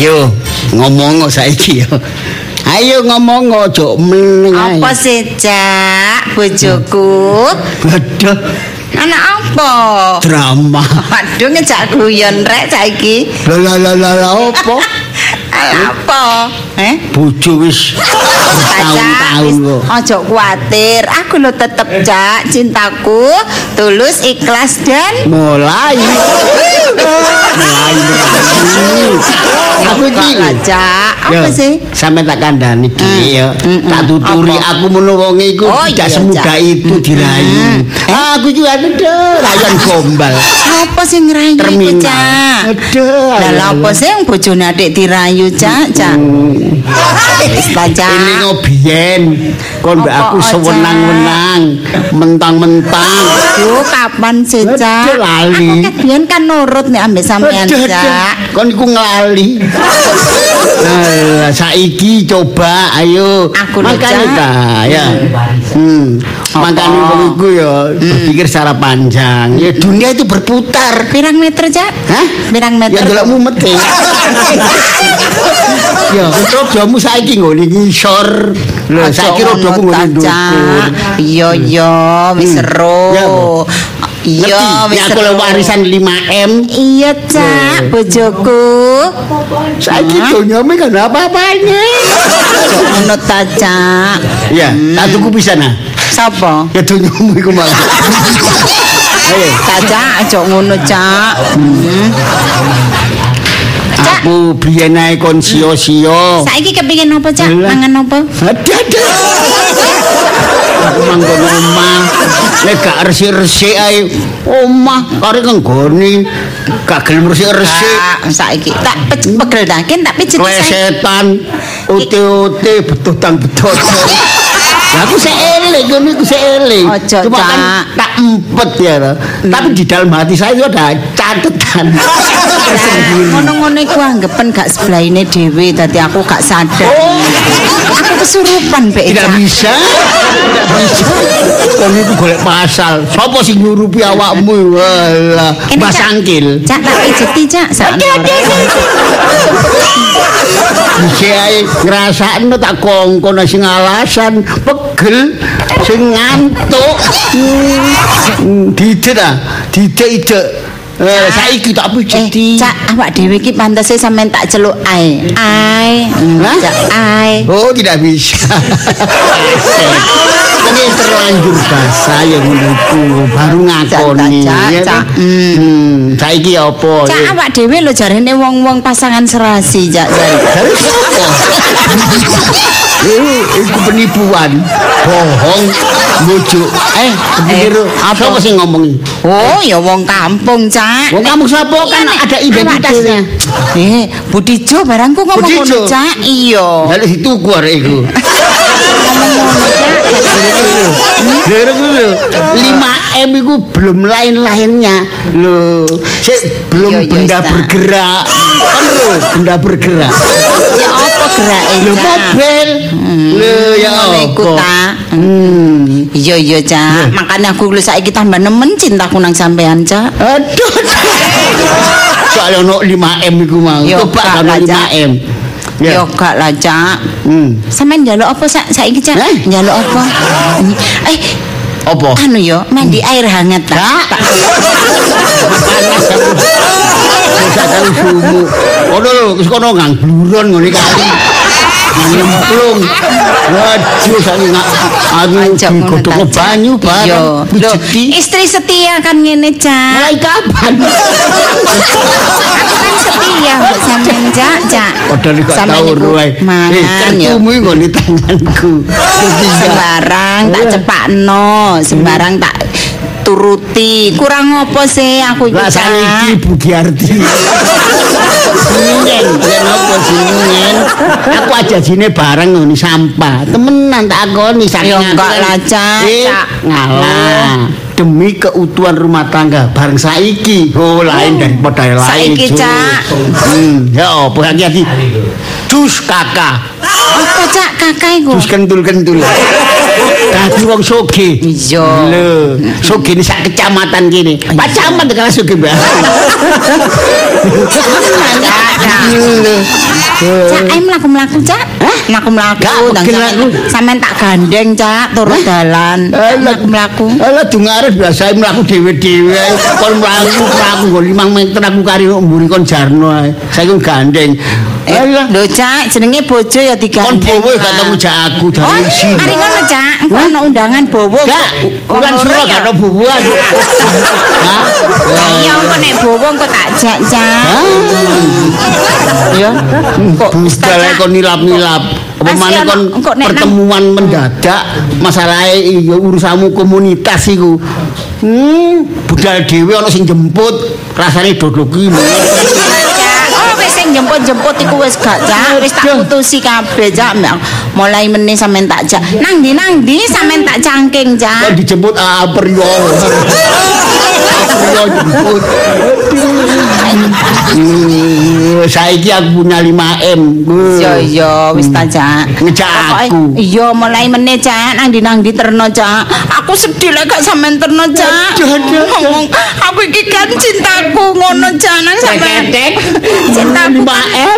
Ayo ngomong saiki yo. Ayo ngomong ojo meneng ae. Apa sih, Cak? Bojoku. Aduh, Anak apa? drama. Waduh ngejak guyon rek saiki. Lah opo? Apa? Bojo wis tahun-tahun kok. Ojo kuatir, aku lo tetep Cak, cintaku tulus, ikhlas dan Mulai. Aku iki Cak, apa sih? Sampe tak kandhani iki ya. Tak tuturi aku menawa wonge iku tidak semudah itu dirayu. Aku iki rayon gombal. Apa sih ngerayu iku, Cak? Aduh. Lah apa sih yang bojone adik dirayu, Cak? Wis ta, Cak. Ini ngobiyen kon mbak aku sewenang-wenang, mentang-mentang. Aduh, kapan sih, Cak? Lali. Aku biyen kan nurut nih ambek sampean, Cak. Kon iku nglali. Nah, saiki coba ayo. Makane ta ya. Makane wong iku ya berpikir secara panjang. Ya dunia itu berputar. Pirang meter, Cak? Hah? Pirang meter? Ya delok mumet e. Ya, rodamu saiki ngene ngisor. Lho, saiki rodamu ngene ndukur. Iya, wis seru. Iya, wis aku warisan 5M. Iya, Cak, bojoku. Saiki donyane kan apa-apane. Ngono ta, Cak. Ya, tak tuku pisan ah. Sapa? Ya donyamu iku malah. Ayo, Cak, aja ngono, Cak. aku biyen ae kon sio-sio. Saiki kepengin apa, Cak? Mangan apa? Aduh. Aku manggon omah. Nek gak resik-resik ae omah kare kenggone gak gelem resik-resik. Saiki tak pegel ta, ken tak pijit Klesetan, ute-ute betutan-betot. Lah aku sik eling ngono iku sik eling. Cuma kan tak empet ya. Tapi di dalam hati saya itu ada catatan. Ngono-ngono iku anggapan gak sebelahine dhewe dadi aku gak sadar. Aku kesurupan mbek. Tidak bisa. Tidak bisa. Kon iku golek pasal. Sopo sing nyurupi awakmu? Walah, Mas Angkil. Cak tak pijeti, Cak. Iki ae ngrasakno tak kongkon sing alasan pegel sing ngantuk. Didet ah, didet. Saiki tak pijeti. Cak, awak dhewe iki pantese sampean tak celuk ae. Cak ae. Oh, tidak bisa. Ini terlanjur bahasa yang menurutku baru ngakoni. Saiki apa? Cak awak dhewe lho jarene wong-wong pasangan serasi, Cak. Iku penipuan, bohong, bujuk. Kepikir apa sih ngomongi? Oh, ya wong kampung, Cak. Wong kampung sapa kan ada identitasnya. Budijo barangku ngomong ngono, Cak. Iya. Lalu dituku arek iku. Lho, 5M itu belum lain-lainnya. Loh, belum benda bergerak. Kan lho, benda bergerak. Ya apa gerake? Lho, mobil. Lho, ya apa? Iya, Cak. Makanya aku lho saiki tambah nemen cintaku nang sampean, Cak. Aduh. Soale ono 5M iku mau. Coba kan 5M. Ya gak lah, Cak. Sampeyan njaluk apa saiki, Cak? Njaluk apa? Apa? Anu yo, mandi air hangat ta. Panas aku. Bisa kali sumu. Ono lho, wis kono ngang bluron ngene kali. Nyemplung. Waduh, saiki aku godhog banyu bareng. Istri setia kan ngene, Cak. Mulai kapan? Aku kan setia mbok sampean, Cak. Padahal kok tau ruwe. Kartumu ngene tanganku. Sembarang tak cepakno, sembarang tak turuti. Kurang apa sih aku iki, Cak? Saiki Bu Giarti. Singen, yen apa singen? Aku aja jine bareng ngene sampah. Temenan tak akoni saking enggak lah, Cak. Ngalah. Demi keutuhan rumah tangga bareng saiki. Oh, lain daripada lain. Saiki, Cak. Ya apa hati-hati. Dus kakak. Apa, Cak, kakak iku? Dus kentul-kentul. Dadi wong sugih. Iya. Lho, sugih sak kecamatan kene. Pak Camat kala sugih, Mbak. Cak, ayo mlaku-mlaku, Cak. Mlaku-mlaku sampean tak gandeng, Cak, turun dalan. Mlaku-mlaku. Alah dungares biasa mlaku dhewe-dhewe. Kon mlaku nggo 5 meter aku kari mburi kon jarno ae. Saiki gandeng. Lho, Cak, jenenge bojo ya digandeng. Kon bowo gak tau ngejak aku dari sini. Mari ngono, Cak. Engko ana undangan bowo. Gak, bukan suruh gak ada bowoan. Hah? Ya engko nek bowo engko tak jak, Cak. Ya. Kok budal kon nilap-nilap. Apa maneh kon pertemuan mendadak masalahe ya urusanmu komunitas iku. Budal dhewe ana sing jemput, rasane dodok ki. Sing jemput-jemput iku wis gak, Cak. Wis tak putusi kabeh, Cak. Mulai meneh sampean tak jak. Nang ndi sampean tak cangking, Cak. Kok dijemput Priyo. Priyo jemput. Saiki aku punya 5M. Iya, wis ta, Cak. Ngejak aku. Iya, mulai meneh, Cak. Nang ndi terno, Cak. Aku sedih lek gak sampean terno, Cak. Ngomong, aku iki kan cintaku ngono, Cak. Nang sampean. Cintaku 5M.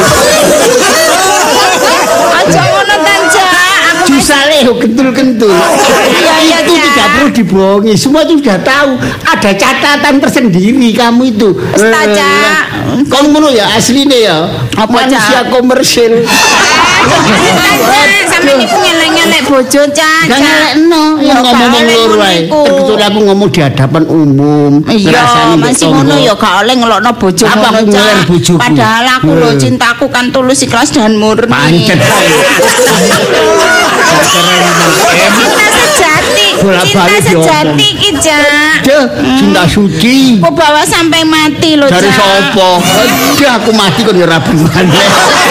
Aja ngono ta, Cak. Jusale kentul-kentul. Iya, itu tidak perlu dibohongi. Semua itu sudah tahu. Ada catatan tersendiri kamu itu. Cak. Kamu ngono ya asline ya. Manusia komersil. Sampe niku ngelek-ngelek bojo, Cak. Gak ngelekno. Ngomong loro ae. Kecuali aku ngomong di hadapan umum. Iya, masih ngono ya gak oleh ngelokno bojo ngono, Cak. Padahal aku lho cintaku kan tulus ikhlas dan murni. Pancet. Cinta sejati. Cinta sejati iki, Cak. Cinta suci. Kok bawa sampai mati lho, Cak. Dari sapa? Aduh, aku mati kok ya rabi maneh.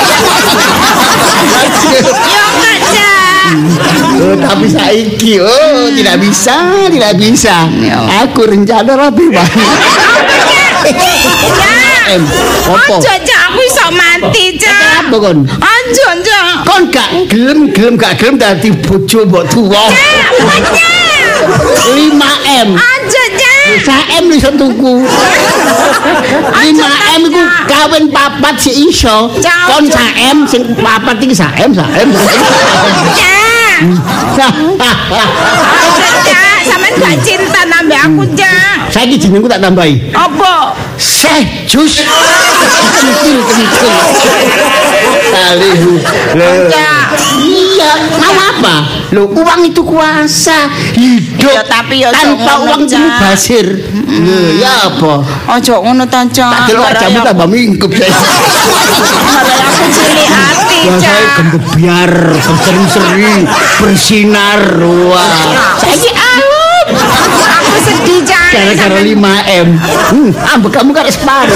Ya enggak, Cak. Tapi saiki tidak bisa. Aku rencana rabi maneh. Ojo, Cak, aku iso mati, Cak. Apa kon? Ojo, Cak. Kon gak gelem dadi bojo mbok tuwa. 5M. Ojo, Cak. 5M iso tuku. 5M iku kawin 4 sik iso. Kon 1M sing 4 iki 1M. Cak. Sampeyan gak cinta nambah aku, Cak. Saiki jenengku tak tambahi. Apa? Syekh Jus. Kentil. Kalihu. Iya, mau apa? Loh, uang itu kuasa. Hidup ya, tapi ya tanpa uang itu basir. Ya apa? Ojo ngono ta, Cak. Tak delok jamu tambah mingkup saya. Aku cilik ati, Cak. Saya gembebiar, berseri-seri, bersinar. Wah. Saiki aku sedih, Cak. Gara-gara 5M. Ambek kamu kan separuh.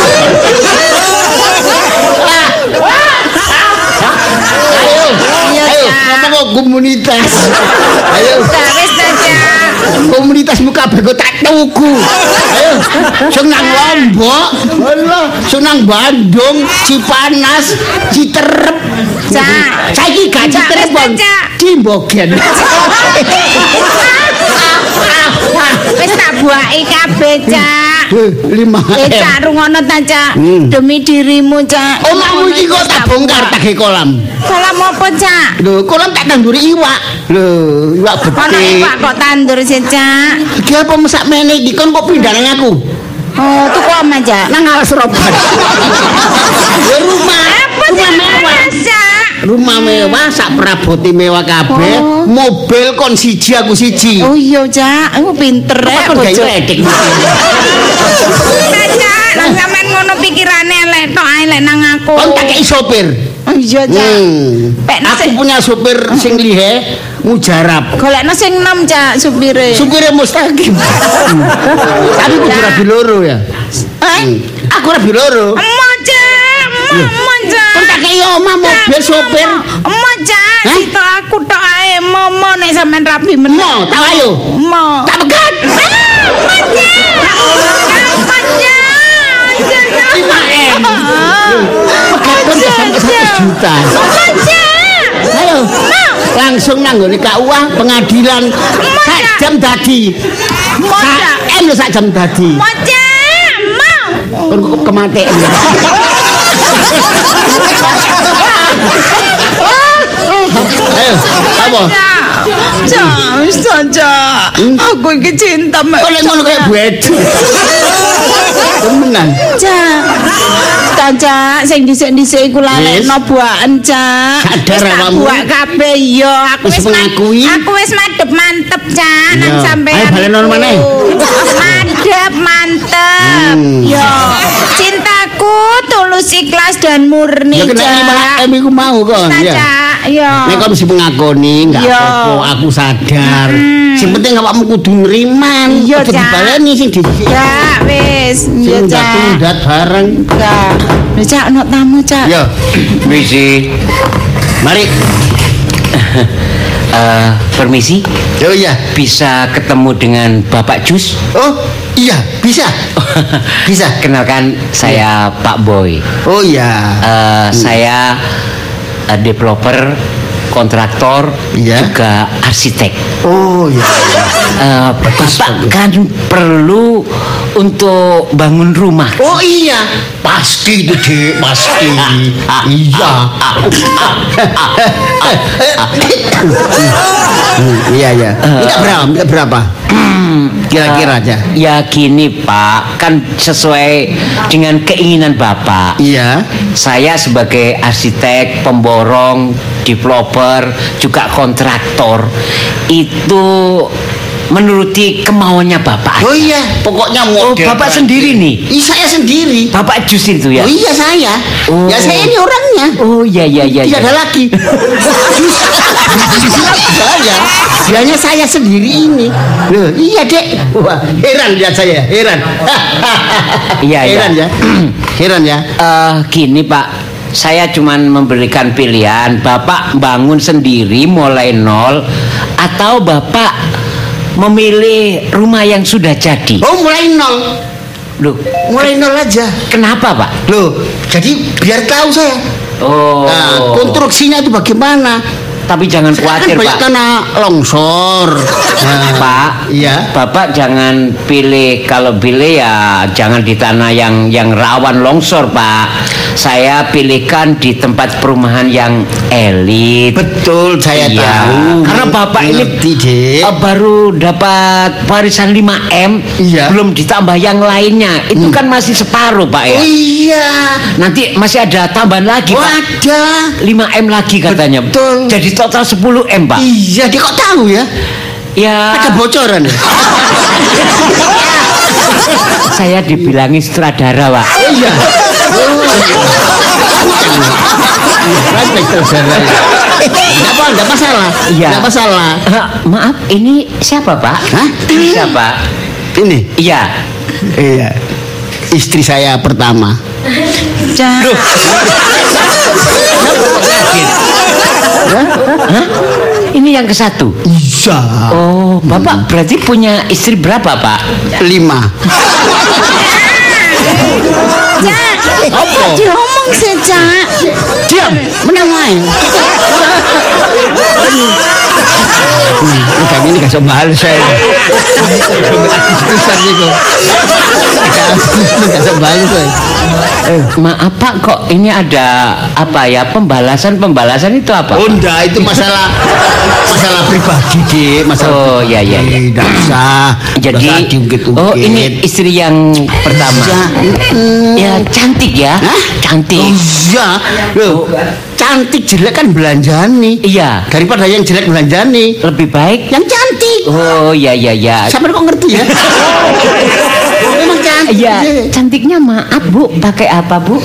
Ayo, ngomong komunitas. Ayo. Wis ta, Cak. Komunitasmu kabeh kok tak tuku. Ayo, sing nang Lombok, Allah, sing nang Bandung, Cipanas, Citerep. Cak. Saiki gak Citerep, Cimbogen. Wis tak buaki kabeh, Cak. 5M. Cak, rungono ta, Cak. Demi dirimu, Cak. Omahmu iki kok tak bongkar tak kolam. Kolam apa, Cak? Lho, kolam tak tanduri iwak. Lho, iwak betik. Ono iwak kok tandur sih, Cak. Iki apa mesak meneh iki kon kok pindah nang aku? Oh, tuku oma, Cak. Nang alas roban. Ya rumah. Apa, Cak? Rumah mewah, sak perabote mewah kabeh, mobil kon siji aku siji. Oh iya, Cak. Aku pinter rek bojo. Ledek. Cak, nang sampean ngono pikirane elek tok ae lek nang aku. Kon tak kei sopir. Oh iya, Cak. Aku punya sopir sing lihe mujarab. Golekno sing 6, Cak, supire. Supire mustaqim. Tapi kudu rabi loro ya. Aku rabi loro. Emok, Cak. Emok, Cak. Kon tak kei omah mobil sopir. Emok, Cak. Sito aku tok ae momo nek sampean rabi meneh. Mo, tak ayo. Mo. Tak pegat. Ayo. Langsung nang nggone KUA pengadilan. Sak jam dadi. Sak jam dadi. Kon kok kematian. Ayo, apa? Saja. Aku iki cinta mek. Kok ngono kaya buedu. Temenan. Cak, sing dhisik-dhisik iku lalekno buaken, Cak. Sadar awakmu. Buak kabeh ya, aku wis mengakui. Aku wis madhep mantep, Cak, nang sampean. Ayo balen ono maneh. Madhep mantep. Yo, cintaku tulus ikhlas dan murni, Cak. Ya kena iku mau kon, ya. Yo. Nek kon mesti mengakoni, enggak apa-apa, aku sadar. Sing penting awakmu kudu nriman. Iya, Aja Cak. dibaleni sing dhisik. Ya, wis. Iya, Cak. Tundat bareng. Ya. Lho, Cak, ono tamu, Cak. Yo. Misi. Mari. Permisi. Oh iya. Bisa ketemu dengan Bapak Jus? Oh, iya, bisa. Bisa. Kenalkan saya Pak Boy. Oh iya. Saya developer, kontraktor, Iya. juga arsitek. Oh iya. Bapak kan perlu untuk bangun rumah. Oh iya, pasti itu Dik, pasti. Iya. Iya ya. Minta berapa? Kira-kira aja. Ya gini Pak, kan sesuai dengan keinginan Bapak. Iya. Saya sebagai arsitek, pemborong, developer, juga kontraktor itu menuruti kemauannya Bapak. Oh iya, pokoknya model. Bapak sendiri nih. Saya sendiri. Bapak Jus itu ya? Oh iya saya. Oh. Ya saya ini orangnya. Oh iya. Tidak ada lagi. Saya. Dianya saya sendiri ini. Loh, iya Dek. Wah, heran lihat saya, heran. Iya. Heran ya. Heran ya. Gini Pak, saya cuman memberikan pilihan. Bapak bangun sendiri mulai nol, atau Bapak memilih rumah yang sudah jadi. Oh, mulai nol. Loh, Mulai nol aja. kenapa Pak? Loh, jadi biar tahu saya. Oh, Nah, konstruksinya itu bagaimana? tapi jangan khawatir Kan banyak Pak. tanah longsor. Nah, Pak, iya. Bapak jangan pilih, kalau pilih ya jangan di tanah yang rawan longsor Pak. Saya pilihkan di tempat perumahan yang elit. Betul, saya Iya, tahu. karena Bapak ini Ngerti, Dek. baru dapat warisan 5M, Iya. belum ditambah yang lainnya. Itu kan masih separuh Pak ya. Oh iya. Nanti masih ada tambahan lagi Oh, Pak. ada. 5M lagi katanya. Betul. Jadi total 10M Pak. Iya, dia kok tahu ya? Ya, Ada bocoran ya? saya dibilangin sutradara Pak. Oh iya. Enggak masalah. Iya. Enggak masalah. Maaf, ini siapa Pak? Hah? Siapa? Ini. Iya. Iya. Istri saya pertama. Cak. Hah? Ini yang ke satu. Iya. Oh, Bapak berarti punya istri berapa Pak? 5. Cak. Apa? Diomong sih, Cak. Diam, menang wae. Ini gak sombal saya. Besar gitu. Gak sombal saya. Maaf Pak, kok ini ada apa ya, pembalasan itu apa? Oh enggak, itu masalah pribadi Dik, Oh, iya. Enggak usah. Jadi, oh ini istri yang pertama. Ya cantik ya. Hah? Cantik. Iya. Loh, cantik jelek kan belanjani. Iya. Daripada yang jelek belanjani, Lebih baik. yang cantik. Oh iya. Sampai kok ngerti ya? Memang cantik. Iya, cantiknya maaf Bu, pakai apa Bu?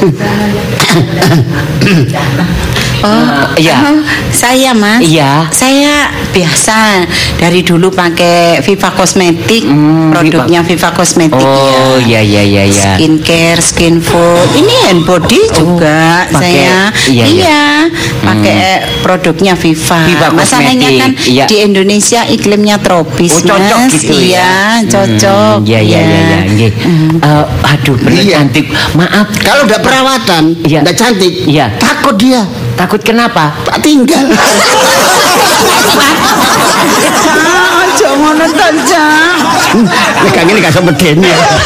Iya. Saya Mas. Iya. Saya biasa dari dulu pakai Viva Kosmetik, produknya Viva Kosmetik Oh ya. iya. Skincare, skin food. Ini hand body juga pakai- saya. iya. Pakai produknya Viva. Viva Masalahnya Kosmetik, kan iya. di Indonesia iklimnya tropis, Oh, cocok Mas. gitu ya? Iya, cocok. Iya. Nggih. Aduh, bener Iya. cantik. Maaf. Kalau udah perawatan, Iya. enggak cantik. Iya. Takut dia. Takut kenapa? tinggal. Aja ngono to, Cak. Nek ngene gak iso medeni.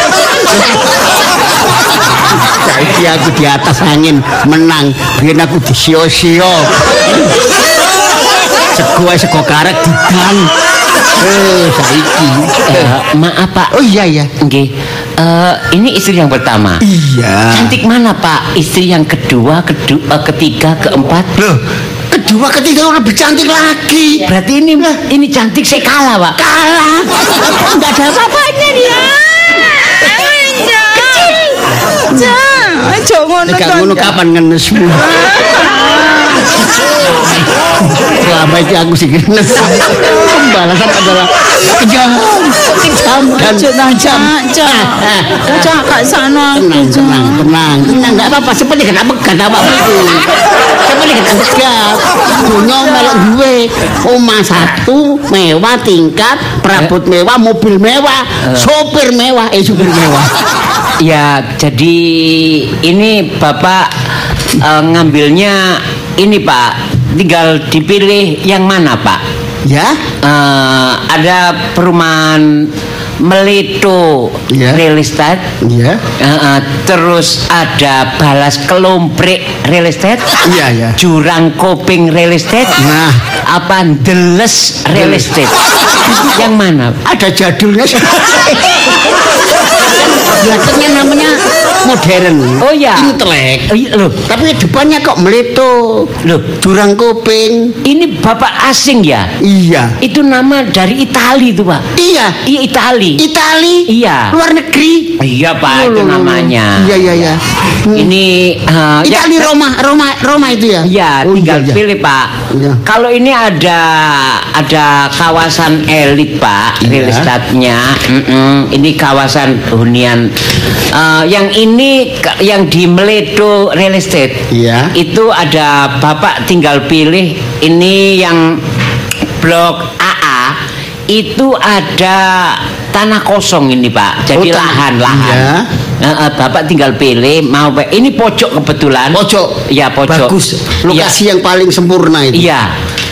Saiki aku di atas angin menang, biyen aku disio-sio. Sego karek didan. Saiki. Maaf Pak. Oh iya. Nggih. Ini istri yang pertama. Iya. Cantik mana Pak? Istri yang kedua, ketiga, keempat? Loh, kedua ketiga lebih cantik lagi. Berarti ini cantik saya kalah Pak. Kalah. Enggak ada apa-apanya dia. Kecil. Cak, aja ngono Nek to. ngono kapan ngenesmu? Selama ini aku sih ngenes. Pembalasan adalah kejam dan Cak, gak sana. tenang. Enggak apa-apa, seperti kena pegat apa-apa. Seperti kena pegat. Dunia melok duwe. Omah satu, mewah tingkat, perabot mewah, mobil mewah, supir mewah. Ya, jadi ini Bapak ngambilnya ini Pak, tinggal dipilih yang mana Pak? Ya? Ada perumahan Melito Real Estate. Iya. Terus ada Balas Kelomprik Real Estate. Iya. Jurang Koping Real Estate. Nah, apa Deles Real Estate? Yang mana? ada jadulnya. Belakangnya namanya modern. Oh ya. Intelek. Loh, Tapi depannya kok Melito. loh, Jurang Koping. ini Bapak asing ya? Iya. Itu nama dari Itali itu Pak. Iya. Iya Itali. Iya. Luar negeri. Iya Pak, itu namanya. Iya. Ini Itali ya, Roma itu ya? ya Oh, tinggal iya. pilih Pak. Iya. Kalau ini ada kawasan elit Pak, Iya. real estate-nya. Ini kawasan hunian. Yang ini yang di Meledo Real Estate. Iya. Itu ada Bapak tinggal pilih ini yang blok AA. Itu ada tanah kosong ini Pak. Jadi lahan. Iya. Bapak tinggal pilih mau ini pojok kebetulan. Pojok. Ya pojok. Bagus. Lokasi yang paling sempurna itu. Iya.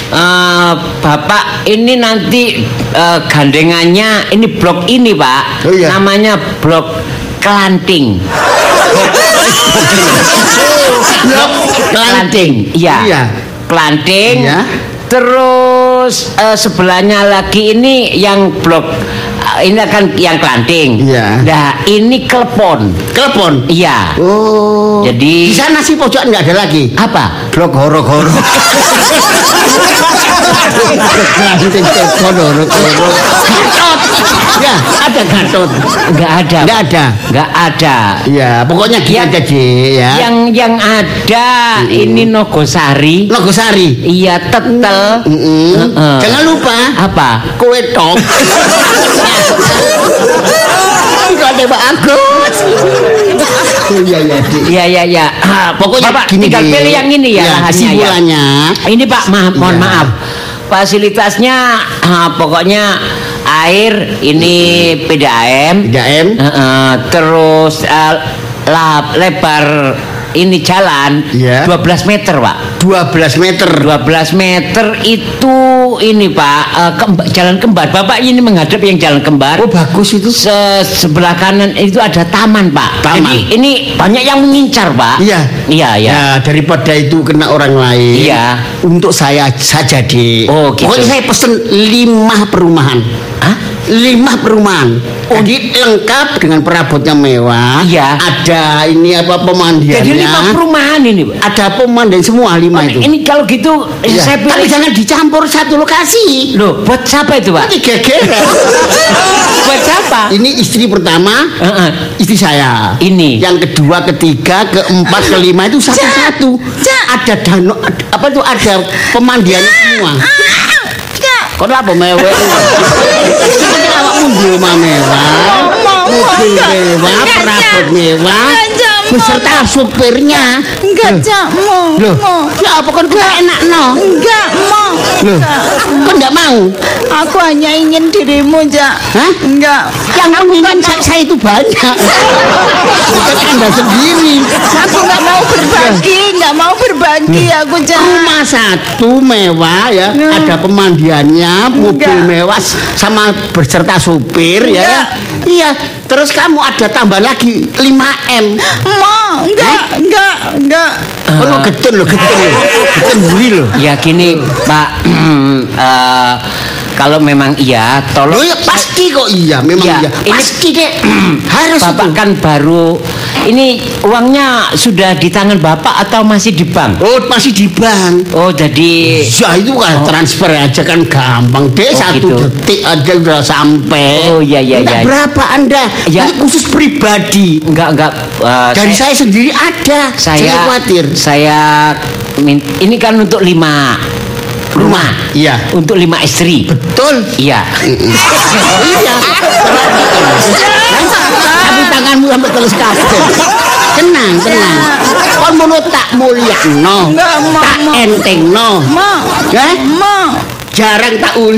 Bapak ini nanti gandengannya ini blok ini Pak. Oh, iya. Namanya blok Kelanting. Blok Kelanting. Iya. Kelanting. Iya. Terus sebelahnya lagi ini yang blok ini akan yang Kelanting. Iya. Nah, ini Klepon. Telepon. Iya. Oh. Jadi di sana sih pojok enggak ada lagi. apa? Blok horo-horo. Ya, ada Gatot. Enggak ada. Enggak ada. Ya, pokoknya gini aja, Ji, ya. Yang ada ini Nogosari. Nogosari. Iya, Tetel. Jangan lupa Apa? kue top. Kok ada Pak Agus. Iya. Pokoknya Bapak gini, tinggal Ji. pilih yang ini ya, lahannya ya. Kesimpulannya. Ini Pak, mohon Iya. maaf. Fasilitasnya pokoknya air ini PDAM. PDAM. Terus lebar ini jalan Iya. 12 meter Pak. 12 meter. 12 meter itu ini Pak jalan kembar. Bapak ini menghadap yang jalan kembar. Oh, bagus itu. Sebelah kanan itu ada taman Pak. Taman. Jadi ini banyak yang mengincar Pak. Iya. Ya. Daripada itu kena orang lain. Iya. Untuk saya saja, Dik. Oh, gitu. Pokoknya saya pesen 5 perumahan. Hah? 5 perumahan. Jadi lengkap dengan perabotnya mewah. Iya. Ada ini apa pemandiannya. Jadi 5 perumahan ini Pak. Ada pemandian semua 5 itu. Ini kalau gitu Iya. saya Tapi pilih. jangan dicampur satu lokasi. Loh, buat siapa itu Pak? Ini gegeran. Buat siapa? Ini istri pertama, istri saya. Ini. Yang kedua, ketiga, keempat, kelima itu satu-satu. Ada danau, apa itu ada pemandiannya semua. Kok apa mewah? Seperti awakmu di rumah mewah, mobil mewah, perabot mewah, beserta supirnya. Enggak, Cak. Mau. Ya apa kan enggak enak no? Enggak, mau. Kok enggak mau? Aku hanya ingin dirimu, Cak. Hah? Enggak. Yang menginginkan saya itu banyak. Bukan Anda sendiri. Aku enggak mau berbagi, enggak mau berbagi aku, Cak. Rumah satu mewah ya, ada pemandiannya, mobil mewah sama berserta supir ya. Iya, terus kamu ada tambah lagi 5M. Mau, enggak. Oh, getun loh. Getun buri loh. Ya gini, Pak. Kalau memang iya, tolong. Loh ya pasti kok iya, memang Ya, iya. ini- Pasti deh. Harus Bapak itu. kan baru ini uangnya sudah di tangan Bapak atau masih di bank? Oh, masih di bank. Oh, jadi Ya itu kan transfer aja kan gampang deh, Oh, satu gitu. detik aja udah sampai. Oh, iya. Entah berapa Anda? Ya. Ini khusus pribadi. enggak Dari saya sendiri ada. Jangan khawatir. Ini kan untuk 5 rumah. Iya. Untuk 5 istri. Betul. Iya. Iya. Tapi tanganmu sampai terus kabeh. Tenang. Kon mono tak mulyakno. Enggak, Mak. Tak entengno. Mau. Hah? Mau. Jarang tak uli.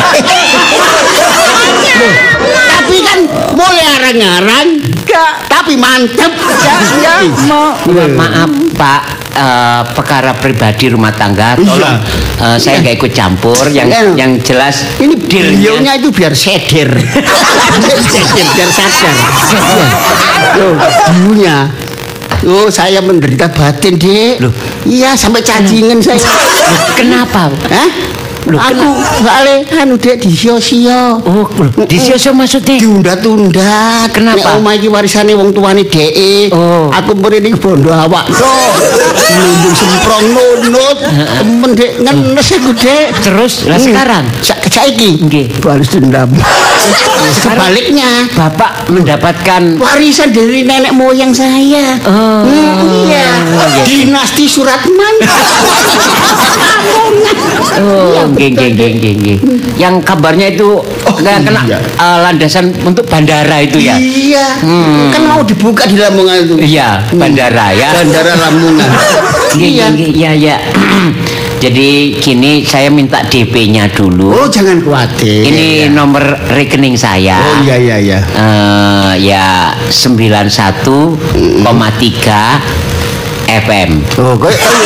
Loh, tapi kan mulai arang-arang, Enggak. tapi mantep. Enggak, mau. Maaf Pak, perkara pribadi rumah tangga tolong saya nggak ikut campur. Yang jelas Ini dealnya- beliaunya itu biar seder. biar sadar. Loh, dulunya. Oh, saya menderita batin, Dek. Loh. Iya, sampai cacingan saya. Kenapa? Hah? Loh, Aku soalnya Dek di sio-sio. Oh, disio maksudnya? Diundat-undat. Kenapa? Nek omah iki warisane wong tuane dhek. Oh. Aku mrene iki bondo awak tok. Nundung semprong nunut. Temen Dek ngenes aku Dek. Terus lah sekarang Saiki Nggih. balas dendam. Sebaliknya Bapak mendapatkan warisan dari nenek moyang saya. Oh. Iya. Iya. Dinasti Suratman. oh, nggih. Yang kabarnya itu nggak kena iya. Landasan untuk bandara itu ya. Iya. Kan mau dibuka di Lamongan itu. Iya, bandara ya. Bandara Lamongan. Iya. Jadi gini saya minta DP-nya dulu. Oh, jangan khawatir. Ini nomor rekening saya. Oh iya. Ya 91,3 FM. Oh,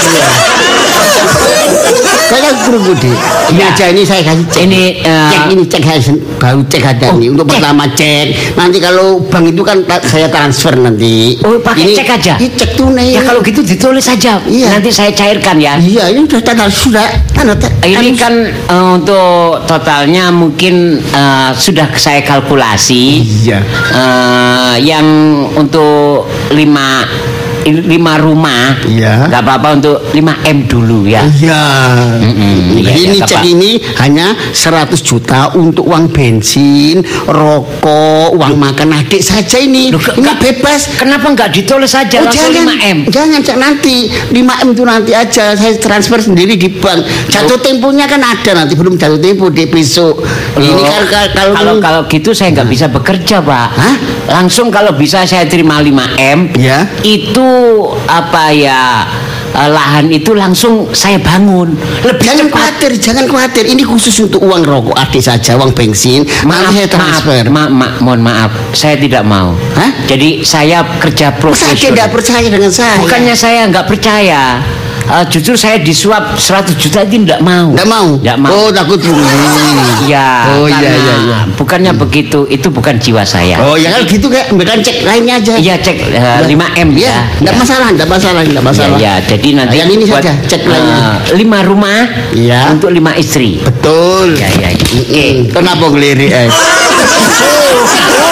kayak kerungu deh. Ini Ya. aja ini saya kasih cek. Ini Cek baru cek ada nih untuk cek. pertama cek. Nanti kalau bank itu kan saya transfer nanti. Oh, pakai cek aja? Ini cek tunai. ya kalau gitu ditulis saja. Iya. Nanti saya cairkan ya. Iya, ini sudah. Ini kan untuk totalnya mungkin sudah saya kalkulasi. Iya. Yang untuk 5 rumah, Iya. nggak apa-apa untuk 5M dulu ya. Iya. Iya, Jadi ini nggak cek apa. ini hanya 100 juta untuk uang bensin, rokok, uang makan adik saja ini. Loh, Ini bebas. Kenapa nggak ditulis saja Oh, langsung 5M? Jangan cek nanti 5M itu nanti aja saya transfer sendiri di bank. Jatuh temponya kan ada nanti belum jatuh tempo di besok. Ini kan kalau gitu saya nggak bisa bekerja Pak. Hah? Langsung kalau bisa saya terima 5M. Ya. Itu apa ya? Lahan itu langsung saya bangun lebih cepat. Jangan khawatir. Ini khusus untuk uang rokok adik saja, uang bensin. Nanti saya transfer. Mohon maaf, saya tidak mau. Hah? Jadi saya kerja Saya profesional. tidak percaya dengan saya. Bukannya saya nggak percaya. Justru saya disuap 100 juta itu tidak mau. Nggak mau. Nggak mau. Oh, takut rugi. Ya, Oh, karena iya. bukannya begitu, itu bukan jiwa saya. Oh ya kalau gitu kayak bukan cek lainnya aja. Iya cek 5M Ya, ya. enggak masalah. Ya, jadi nanti yang ini buat, saja cek lainnya. 5 rumah Iya. untuk 5 istri. Betul. Ya. Oke. Kenapa ngelirik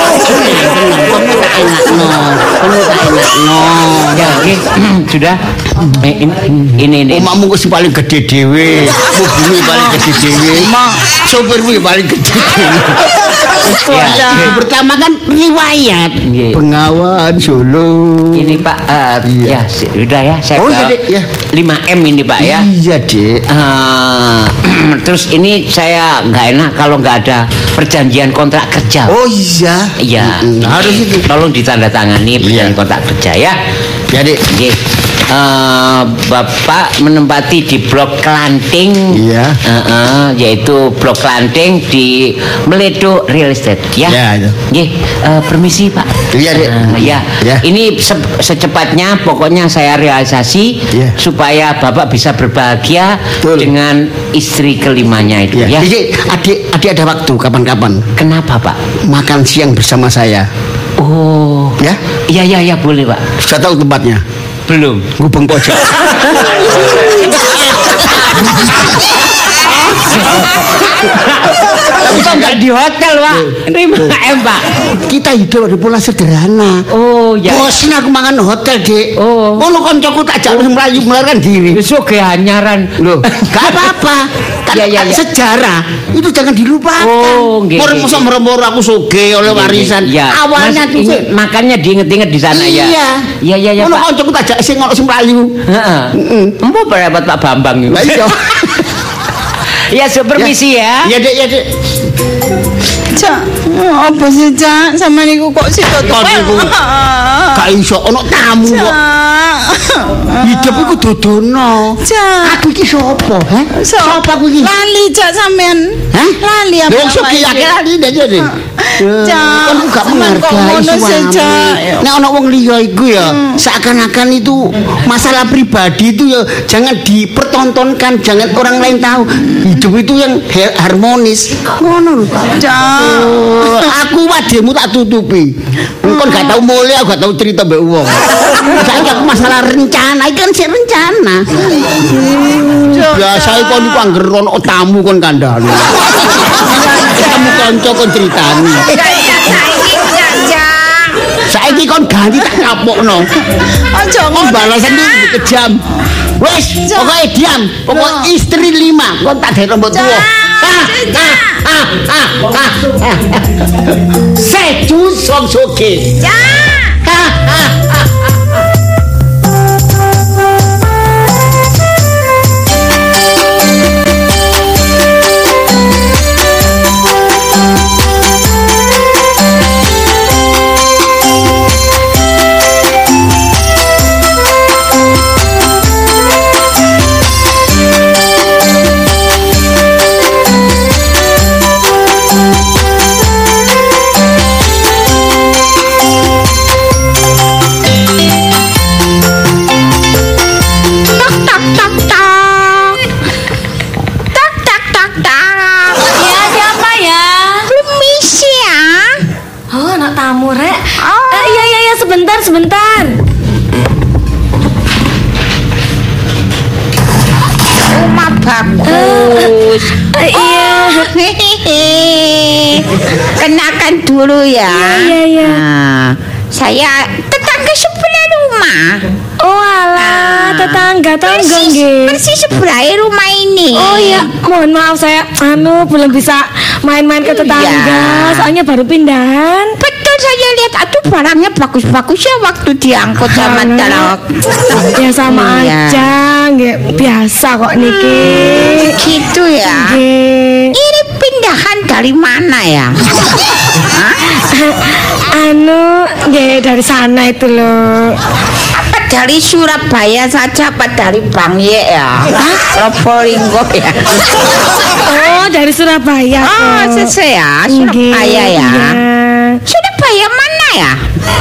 Kamu tak enak no. Ya, oke. Sudah. Ini. Omahmu kok paling gede dhewe. Mobilmu paling gede dhewe. Sopirmu paling gede dhewe. Ya. Pertama kan riwayat Bengawan Solo. Ini Pak, ya sudah ya saya ya. 5M ini Pak ya. Iya Dek. Terus ini saya nggak enak kalau nggak ada perjanjian kontrak kerja. Oh iya. Iya. Harus itu. Tolong ditandatangani perjanjian kontrak kerja ya. Ya Dek. Bapak menempati di Blok Klanting, yaitu Blok Klanting di Meledo Real Estate, ya. Permisi Pak. Iya Dek. Ini secepatnya, pokoknya saya realisasi supaya Bapak bisa berbahagia dengan istri kelimanya itu. Ya. Adik ada waktu kapan-kapan? Kenapa Pak? Makan siang bersama saya. Oh. Ya? Iya boleh Pak. Sudah tahu tempatnya? Belum. Gubeng pojok. Tapi kok nggak di hotel Pak? 5M Pak. Kita hidup di pola sederhana. Oh ya. Bosan aku makan hotel Dek. Oh. Ngono koncoku tak jak melayu melarikan diri. Besok kehanyaran. Loh, gak apa-apa. Ya. Sejarah itu jangan dilupakan. Oh, nggih. Moro aku sugih oleh warisan. Awalnya tuh makannya diinget-inget di sana ya. Iya. Ngono koncoku tak jak sing melayu. Heeh. Empo berapa Pak Bambang itu. Iya. Ya, permisi ya. Iya Dek. Cak, apa sih Cak? Sama niku kok situ tuh. Gak iso ono tamu kok. Hidup iku dodono. Cak. Aku iki sapa, ha? Sapa aku iki? Lali Cak sampean. Hah? Lali apa? Lho sok iki lali dadi. Cak, kan gak menghargai suami. Nek ana wong liya iku ya seakan-akan itu masalah pribadi itu ya jangan dipertontonkan, jangan orang lain tahu. Hidup itu yang harmonis. Ngono lho. Cak. Aku wademu tak tutupi. Engko gak tau mulih, aku gak tau cerita mbek wong. Saiki aku masalah rencana, iki kan sik rencana. Biasa iku niku angger ono tamu kon kandhane. Kamu kanca kon critani. Saiki kon ganti tak kapokno. Aja ngono. Balasan iki kejam. Wes, pokoke diam. Pokok istri 5 kon tak gawe rambut tuwa. Seju song soge. Sebentar. Rumah bagus. Iya. Kenakan dulu ya. Iya. Saya tetangga sebelah rumah. Oh alah, tetangga nggih. Persis sebelah rumah ini. Oh iya, mohon maaf saya belum bisa main-main ke tetangga, soalnya baru pindahan. Betul, saya lihat aduh barangnya bagus-bagus ya waktu diangkut sama truk. Ya sama aja, nggih. Biasa kok niki. Gitu ya. Nggih. Ini pindahan dari mana ya? Nggih dari sana itu loh. Apa dari Surabaya saja apa dari Bangye ya? Probolinggo ya? Oh dari Surabaya. Oh sesuai ya, Surabaya ya. Surabaya mana ya?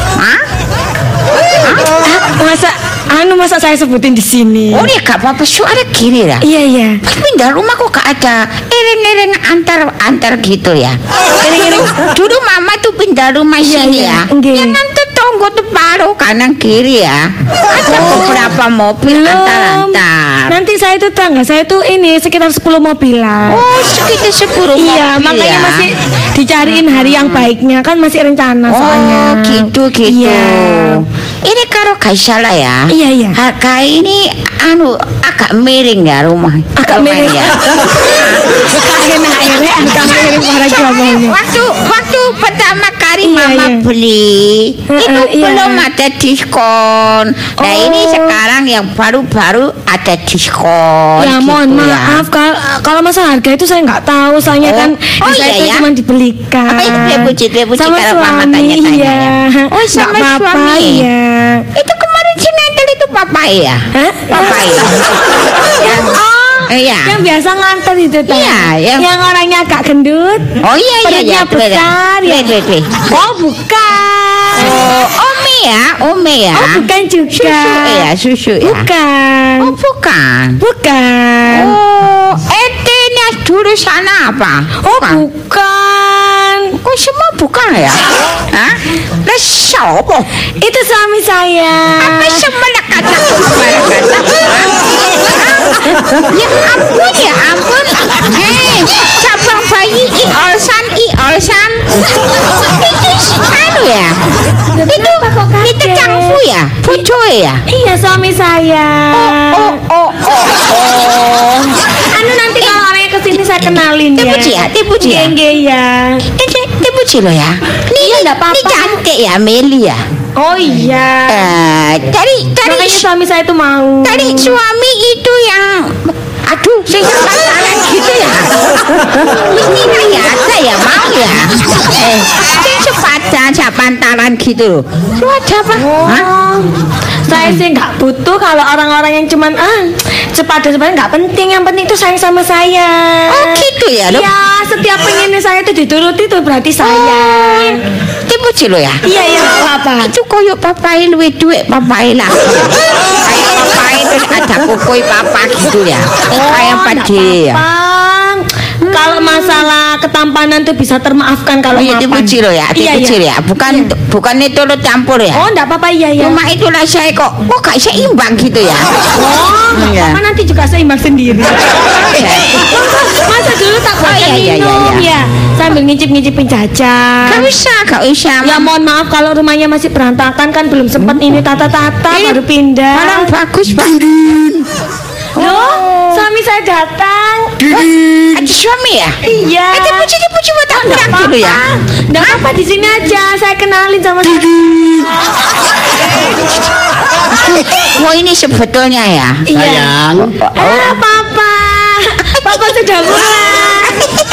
Masa saya sebutin di sini. Oh ya gak apa-apa, suara kiri ya. Iya. Pindah rumah kok gak ada iring-iring antar gitu ya. Iring-iring. Dulu mama tuh pindah rumah sini ya. Ya nanti tonggo tuh paruh kanan kiri ya. Ada beberapa mobil antar-antar. Nanti saya tuh tangga saya tuh ini sekitar 10 mobilan. Oh sekitar 10 mobil. Iya makanya masih dicariin hari yang baiknya kan masih rencana soalnya. Oh gitu. Iya. ini kalau gak salah ya. Iya. Harga ini agak miring ya rumah. Agak miring ya. Waktu pertama kali Mama beli itu belum ada diskon. Nah ini sekarang yang baru-baru ada diskon. Ya gitu mohon maaf kalau masalah harga itu saya nggak tahu. Soalnya kan saya cuma dibelikan. Dia puji sama kalau Mama suami. tanya-tanya ya. Oh sama suami. Iya. Itu kemarin sinetron itu papa ya? Papa ya. Yang biasa nganter itu tuh. Iya, yang orangnya agak gendut. Oh iya. Perutnya besar ya. Oh bukan. Ome ya. Oh bukan juga. Susu ya. Bukan. Oh bukan. Bukan. Oh, etenya dulu sana apa? Oh bukan. Kok semua bukan ya? Hah? Lah siapa? Itu suami saya. Apa semua kata? Ya ampun. Hei, cabang bayi Iolsan. Itu ya? Itu Cangfu ya? Bojoe ya? Iya suami saya. Oh. Nanti kalau orangnya kesini saya kenalin ya. Tipuji ya? Iya. Tipuji lo ya? Iya enggak apa-apa. Ini cantik ya Meli ya? Oh iya. Makanya suami saya itu mau. Tadi suami itu yang sing pacaran gitu ya. Ini saya mau ya. Sing sepantaran gitu. Siapa? Saya sih nggak butuh kalau orang-orang yang cuman sepadan nggak penting. Yang penting itu sayang sama saya. Oh gitu ya? Iya, setiap pengennya saya itu dituruti itu berarti sayang. Tipuji lo ya? Iya apa? Itu koyok papai luwe duit papai lah. Kayak papai terus ada kukui papa gitu ya. Kayak padi ya. Kalau masalah ketampanan tuh bisa termaafkan kalau mapan. Tipuji lo ya? Tipuji ya? Bukan itu lo campur ya? Oh enggak apa-apa iya. Cuma itulah saya kok gak seimbang gitu ya? Apa nanti juga seimbang sendiri. Masa dulu tak minum ya sambil ngicip-ngicipin jajan. Gak usah. Ya mohon maaf kalau rumahnya masih berantakan kan belum sempat ini tata-tata baru pindah. Orang bagus Pak. Loh, suami saya datang. Ada suami ya? Iya. Tipuji buat aku dulu ya. Enggak apa di sini aja. Saya kenalin sama Wah ini sebetulnya ya. Sayang. Papa sudah pulang.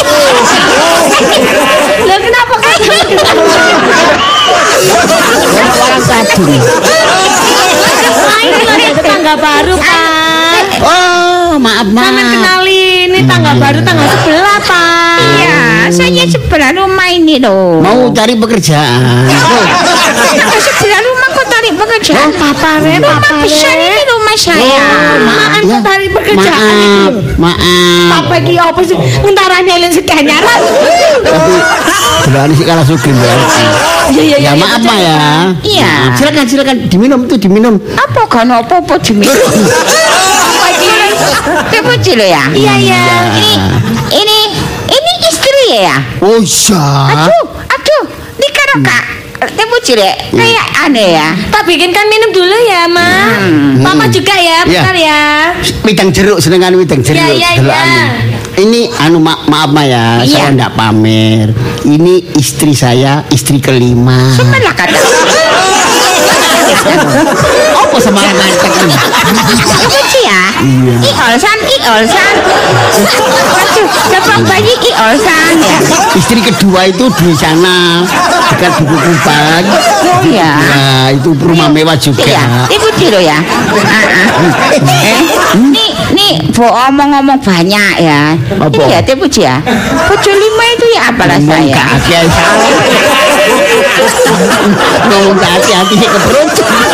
Loh kenapa Orang tadi. Ini tetangga baru Pak. Oh maaf. Sama kenalin ini tangga baru tangga sebelah Pak. Iya, saya sebelah rumah ini loh. Mau cari pekerjaan. Tangga sebelah rumah kok cari pekerjaan? Papa besar ini rumah saya. Maaf cari pekerjaan. Maaf. Papa ki apa sih? Ngentarane len sedanyaran. Tapi berani sih kalah sugih berarti. Iya. Ya maaf Ma ya. Iya. Silakan diminum diminum. Apa kan apa diminum? Apa iki? Tipuji lo ya? Iya. Ini istri ya? Oh iya. Aduh, ini karo Kak Tipuji deh. Kayak aneh ya. Tak bikinkan minum dulu ya, Ma. Papa juga ya, bentar ya. Wedang jeruk senengan wedang jeruk. Iya. Ini maaf Ma ya, saya enggak pamer. Ini istri saya, istri kelima. Sebelah kata. Apa semangat ini? Tipuji ya? Iolsan. Waduh, cabang bayi Iolsan ya. Istri kedua itu di sana dekat Buku Kubang. Oh ya. Nah, itu rumah mewah juga. Iya, Tipuji lo ya. Nih, omong-omong banyak ya. Apa? Iya, Tipuji ya. Bojo lima itu ya apalah saya. Ngomong hati-hati ke perut.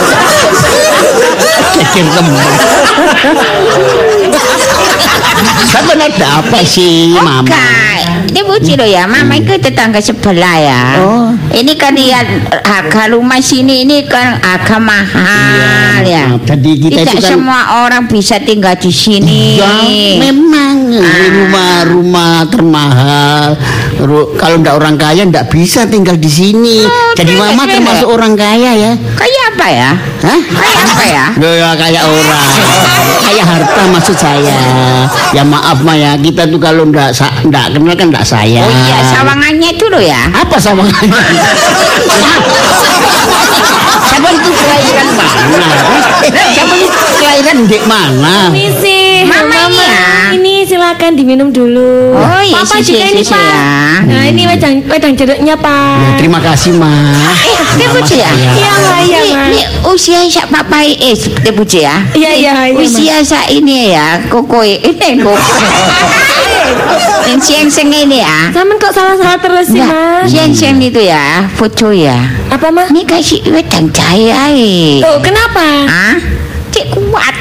Cecer kembang. Sebenarnya apa sih Mama? Tipuji lo ya, Mama itu tetangga sebelah ya. Ini kan ya harga rumah sini ini kan harga mahal ya. Jadi kita tidak itu kan semua orang bisa tinggal di sini. Ya, memang rumah-rumah termahal, Kalau ndak orang kaya ndak bisa tinggal di sini. Jadi mama termasuk orang kaya ya. Kayak apa ya? Hah? Kayak apa ya? Loh, ya kayak orang. Kayak harta maksud saya. Ya maaf Ma ya, kita tuh kalau ndak kenal kan ndak sayang. Oh iya, sawangannya itu loh ya. Apa sawangannya? Siapa itu kelahiran mana? Siapa itu kelahiran di mana? Misi, Mamanya. Ini silakan diminum dulu. Oh iya, Papa juga ini sisi Pak. ya. Nah ini wedang jeruknya Pak. Ya, terima kasih Ma. Tebuji ya? Iya Ma, iya Ma. Ini usia sak papa Tebuji ya? Iya iya iya. Usia sak ini ya, koko ini koko. Siang-siang ini ya. Sama kok salah-salah terus sih Ma. Siang-siang itu ya, foto ya. Apa Ma? Ini kasih wedang jahe ae. Oh kenapa? Hah? Cek kuat.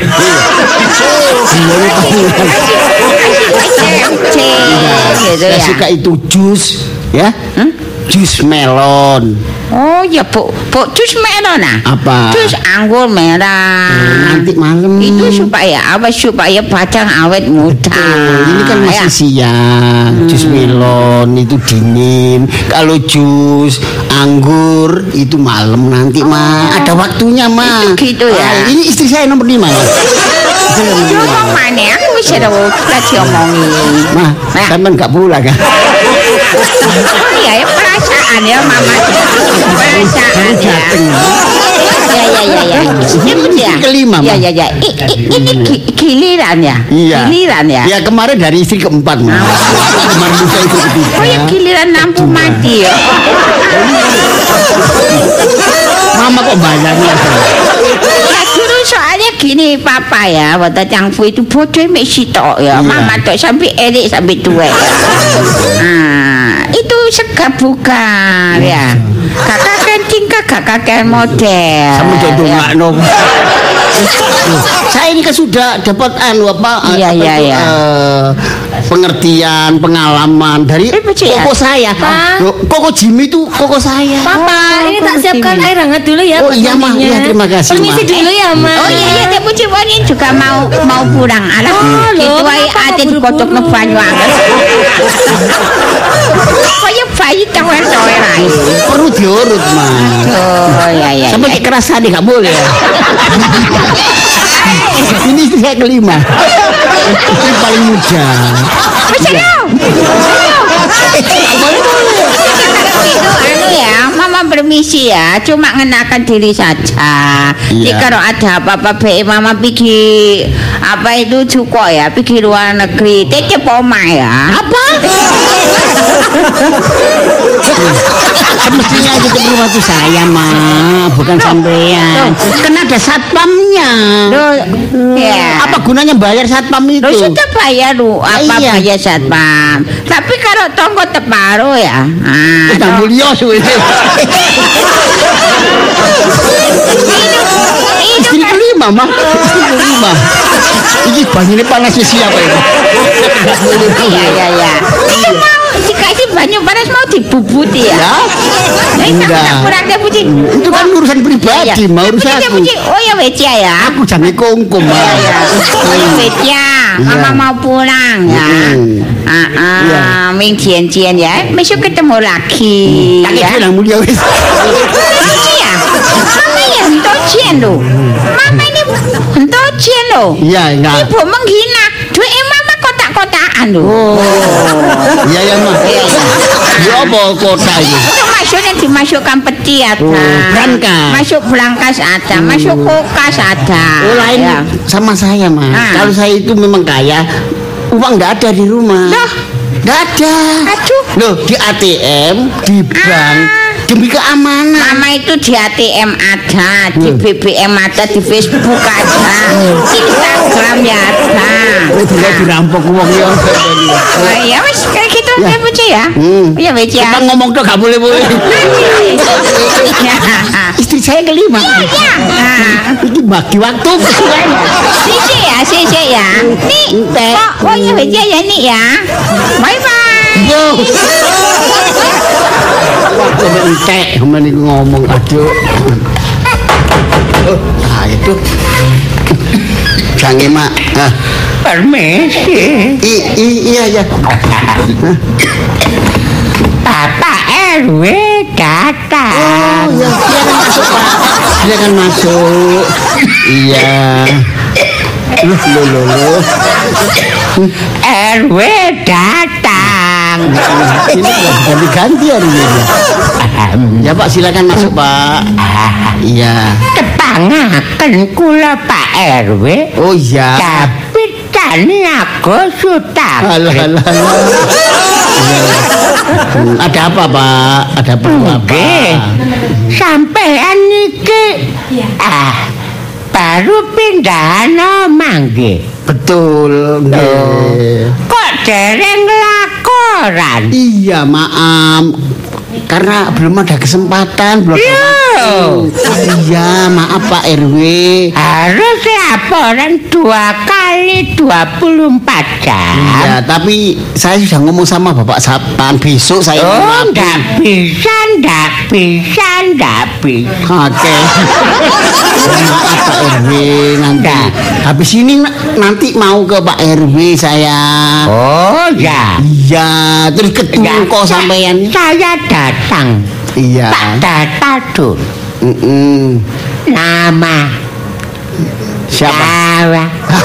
Gitu Saya ya. suka itu jus ya. Jus melon. Oh ya bu jus melon nah. Apa? Jus anggur merah. Nanti malam. Itu supaya apa? Supaya batang awet muda. Ini kan masih siang. Jus melon itu dingin. Kalau jus anggur itu malam nanti Ma. Ada waktunya Ma. Itu gitu ya. Ini istri saya nomor 5 ya. Ngomong mana? Aku bisa lagi omongin. Ma, sampean enggak pulang kan? Oh iya ya perasaan ya mama. Perasaan ya. Ya. Ini ya. Kelima, Ma. Ya. Ini giliran ya. Iya. Giliran ya. Ya kemarin dari istri keempat Ma. Kemarin lusa itu ketiga. Oh ya giliran lampu mati ya. Mama kok bayarnya? Ya dulu soalnya gini papa ya, waktu cangfu itu bodoh mek sitok ya. Mama tok sampai elik sampai tua ya. Nah, itu segabungan ya. Kakak kan tingkah kakak kan model. Sama jodoh ya. nggak no. Saya ini kan sudah dapat Iya. Pengertian, pengalaman dari koko saya. Koko Jimmy itu koko saya. Papa, ini tak siapkan air hangat dulu ya. Oh iya Ma, ya, terima kasih Ma. Permisi dulu ya Ma. Oh iya, Teh Puji ini juga mau pulang. Alah, itu ae ate dikotok nang banyu anget. Kayak bayi tower-tower ae. Perlu diurut Ma. Oh iya. Sampai kekerasan nggak boleh ya. Ini istri saya kelima. Istri paling muda. Itu ya, Mama permisi ya, cuma ngenakan diri saja. Jadi kalau ada apa-apa be Mama pergi apa itu cukup ya, pergi luar negeri, titip oma ya. Apa? Semestinya itu ke rumah itu saya Ma, bukan sampean. Kan ada satpamnya. Ya. Apa gunanya bayar satpam itu? Lo sudah bayar lu, apa Iya. bayar satpam. Tapi kalau tonggo teparo ya. Udah mulia suwe. Istri kelima Ma, istri kelima. Ini banyune panas siapa ini? Iya. Ini mau dikasih banyu panas mau dibubuti ya. Enggak. Itu kan urusan pribadi, mau urusan aku. Oh ya Becia ya. Aku jane kongkom Ma. Oh ya Becia, Mama mau pulang ya. Ming Jian ya. Besok ketemu lagi. Tak bilang mulia wis. Iya. Mama ya Hento Jian lo. Mama ini Hento Jian lo. Iya, enggak. Ibu menghina. Duit Mama kotak-kotakan lo. Iya ya Ma. Ya apa kota ini? Itu maksudnya dimasukkan peti ada. Brankas. Masuk brankas ada, masuk kulkas ada. Oh lain Ya. sama saya Ma. Kalau saya itu memang kaya, uang enggak ada di rumah. Loh? Enggak ada. Aduh. Loh, di ATM, di bank, demi keamanan. Mama itu di ATM ada, di BBM ada, di Facebook ada, Instagram ya ada. Tidak dirampok uang ya. Oh, ya wis kayak gitu ya Puji ya. Ya wis ya. Kita ngomong tuh gak boleh. Istri saya kelima. Iya. Ini bagi waktu. Sisi ya. Nih. Oh ya wis ya nih ya. Bye bye. Yo. Waktu entek meniku ngomong aduh. Ah itu. Jange Mak. Permisi. Iya. Bapak RW datang. Oh ya, silakan masuk Pak. Silakan masuk. Iya. Loh. RW datang. Ini ganti-ganti hari ini. Ya Pak, silakan masuk Pak. Iya. Kepangaken kula Pak RW. Oh iya. Tapi tani aku sutar. Alah. Ada apa Pak? Ada perlu apa? Sampean niki baru pindahan omah nggih. Betul nggih. Kok dereng laporan? Iya, maaf. Karena belum ada kesempatan, belum ada waktu. Iya, maaf Pak RW. Harus laporan 2 kali 24 jam. Iya, tapi saya sudah ngomong sama Bapak Sapaan besok saya nggak bisa. Oke. Maaf Pak RW, nanti habis ini nanti mau ke Pak RW saya. Oh ya. Iya, terus ketemu kok sampean. Saya datang. Iya. Pak Datadun. Nama siapa?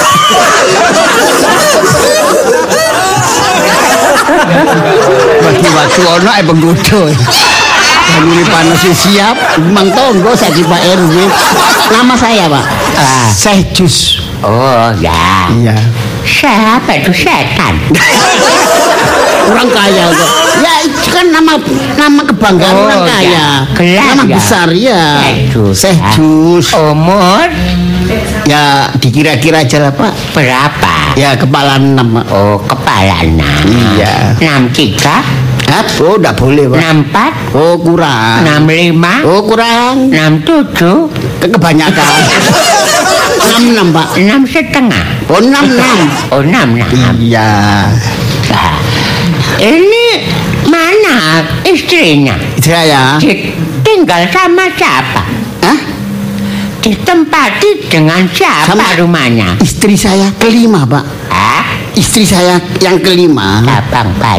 Bagi waktu ono penggoda. Ini panas siap, Mang Tonggo saji Pak RW. Nama saya Pak. Sejus. Oh ya. Iya. Siapa itu setan? Orang kaya kok. Ya itu kan nama kebanggaan orang kaya. Nama besar ya. Sejus. Umur? Ya dikira-kira aja lah Pak. Berapa? Ya kepala 6. Oh kepala 6. Iya. 63. Oh enggak boleh Pak. 64. Oh kurang. 65. Oh kurang. 67. Kebanyakan. 66 Pak. 6,5. Oh 66. Oh 66. Iya. Nah, ini mana istrinya? Saya. Tinggal sama siapa? Hah? Ditempati dengan siapa sama rumahnya? Istri saya kelima Pak. Hah? Istri saya yang kelima. Abang Pak.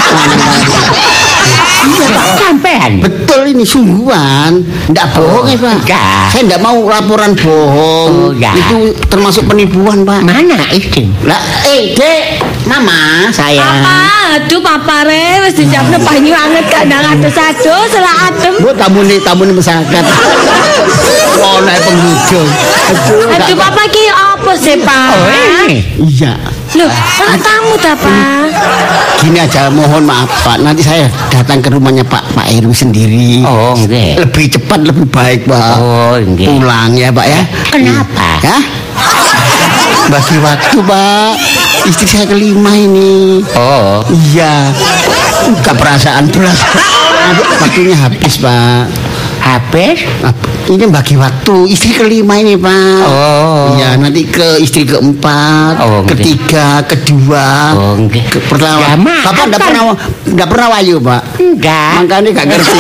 Iya Pak, sampean. Betul ini sungguhan. Enggak bohong ya Pak. Enggak. Saya enggak mau laporan bohong. Itu termasuk penipuan Pak. Mana istri? Lah, Dek, Mama, saya. Aduh Papa Re, wis disiapno banyu anget kandang adus-adus selak adem. Bu tamune masyarakat. Oh, nek pengunjung. Aduh Papa ki apa sih Pak? Iya. Loh, orang tamu dah Pak. Gini aja, mohon maaf Pak. Nanti saya datang ke rumahnya Pak RW sendiri. Oh, nggih. Lebih cepat, lebih baik Pak. Oh, nggih. Pulang ya Pak ya. Kenapa? Ya? Bagi waktu Pak. Istri saya kelima ini. Oh. Iya. Bukan perasaan belas. Waktunya habis Pak. Habis? Ini bagi waktu istri kelima ini Pak. Oh. Iya, nanti ke istri keempat, ketiga, kedua. Oh, enggak. Pertama. Bapak enggak pernah wayu Pak. Enggak. Makanya enggak ngerti.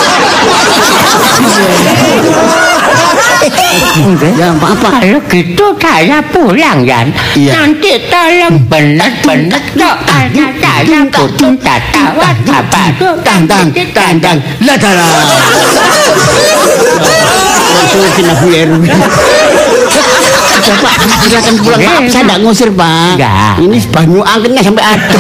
Ya apa? Kalau gitu saya pulang ya. Iya. Nanti tolong benar-benar doanya saya kudu tatawa tang. Lah. Langsung kena Bu RW. Pak, silakan pulang Pak. Saya enggak ngusir Pak. Enggak. Ini banyu angetnya sampai adem.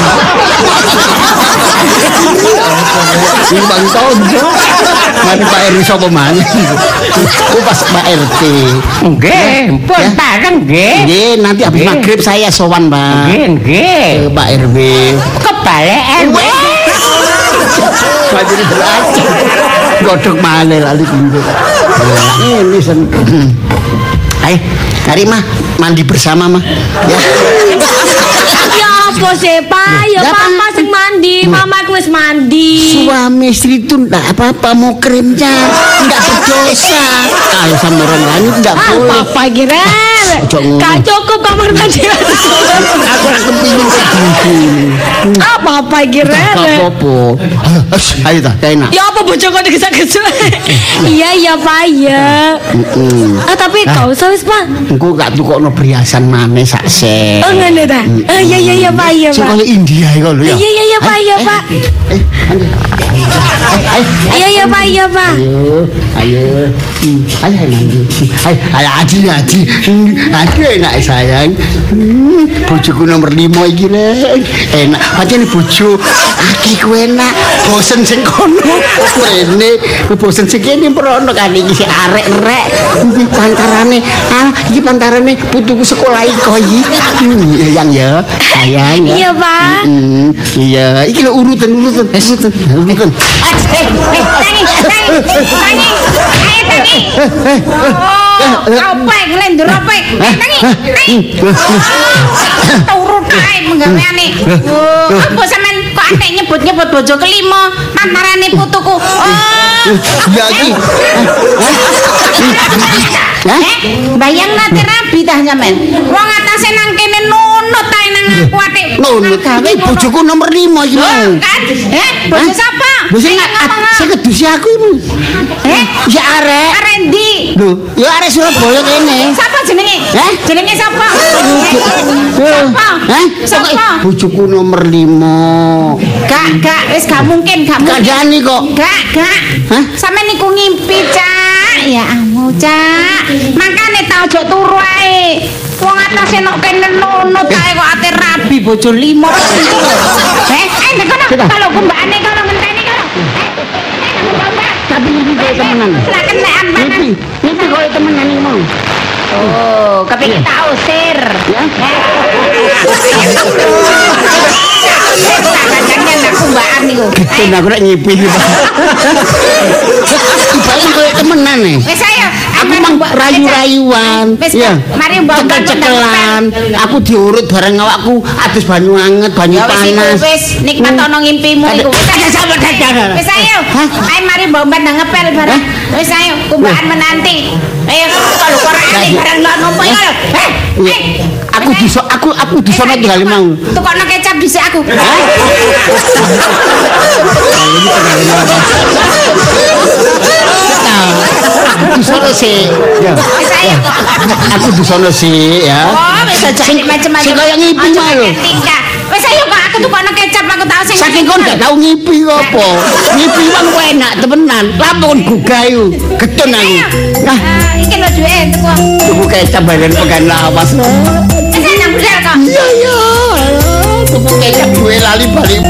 Ini Bang Tonjo. Mari Pak RW sapa maneh. Oh pas Pak RT. Nggih, pun bareng nggih. Nggih, nanti habis maghrib saya sowan Pak. Nggih. Pak RW. Kebalik RW. Jadi belajar. Godok malih lali pintu. Ini sen. Ayo, mari mah mandi bersama mah. Ya. Ya apa sih Pak? Ya Papa sing mandi, Mama wis mandi. Suami istri itu enggak apa-apa mau kremnya. enggak berdosa. Kalau sama orang lain enggak boleh. Apa kira? Gak cukup kamar mandi. Aku kepingin kayak Apa kira? apa-apa. Ayo ta, enak. Ya apa bojo kok digesek-gesek. Iya Pak ya. Tapi kau usah wis Pak. Engko gak tukokno perhiasan maneh sak set. Oh ngene ta. Iya Pak ya Sing Pak. kaya India iku lho ya. Iya Pak ya Pak. Iya Pak ya Pak. Ayo. Ayo mandi. Ayo Haji. Aduh enak sayang. Bojoku nomor 5 iki rek. Enak. Pancen bojo iki ku enak. Bosen sing kono. Rene bosen sing kene prono kan iki sing arek-rek. Iki pantarane. Iki pantarane putuku sekolah iki. Yang ya. Sayang ya. Iya Pak. Iya, iki lho urutan. Apa ngelendur apa? Tangi. Turun kae menggaweane. Apa sampean kok antek nyebut-nyebut bojo kelima pantarane putuku. Ya iki. Bayang nate rabi tah sampean. Wong atase nang kene nunut tae nang aku atik. Nunut. Iki bojoku nomor 5 iki. Kan? Bojo sapa? Bojo sing kedusi aku iku. Ya arek. Arek ndi? Lho, ya arek Surabaya kene. Sapa jenenge? Jenenge sapa? Sapa? Bojoku nomor 5. Gak, wis gak mungkin, gak mungkin. Kandhani kok. Gak. Sampe niku ngimpi, Cak. Ya ampun, Cak. Makane ta ojo turu ae. Wong atase nok kene nunut ae kok ate rabi bojo 5. Nek kono kalau kumbane kono ngenteni kono. Tapi iki koyo temenan. Lah kenekan banget. Iki koyo temenan iki mau. Oh, kepengin tak usir. Ya. Kadang-kadang aku mbaan niku. Geten aku nek nyipi iki, Pak. Ibane koyo temenan nih. Wis ayo. Aku mang rayu-rayuan. Ya. Mari mbok cekelan. Aku diurut bareng awakku adus banyu anget, banyu panas. Wis nikmat ana ngimpimu iku. Wis ayo. Ayo mari mbok ndang ngepel bareng. Wis ayo kumbaan menanti. Ayo kalau korane bareng lho nopo iku. Aku di sana tinggal mau. Tukokno kecap dhisik aku. Aku di sana sih. Ya. Aku di sana sih ya. Oh, wis aja macam-macam. Sing kaya ngipi mah lho. Wis ayo kok aku tukokno kecap aku tau sing. Saking kon gak tau ngipi apa. Ngipi wong enak temenan. Lampun gugah iku. Getun aku. Nah, iki lho duwe tuku. tuku kecap bareng pegan lawas. Wis nang budal kok. Iya. Tuku kecap duwe lali balik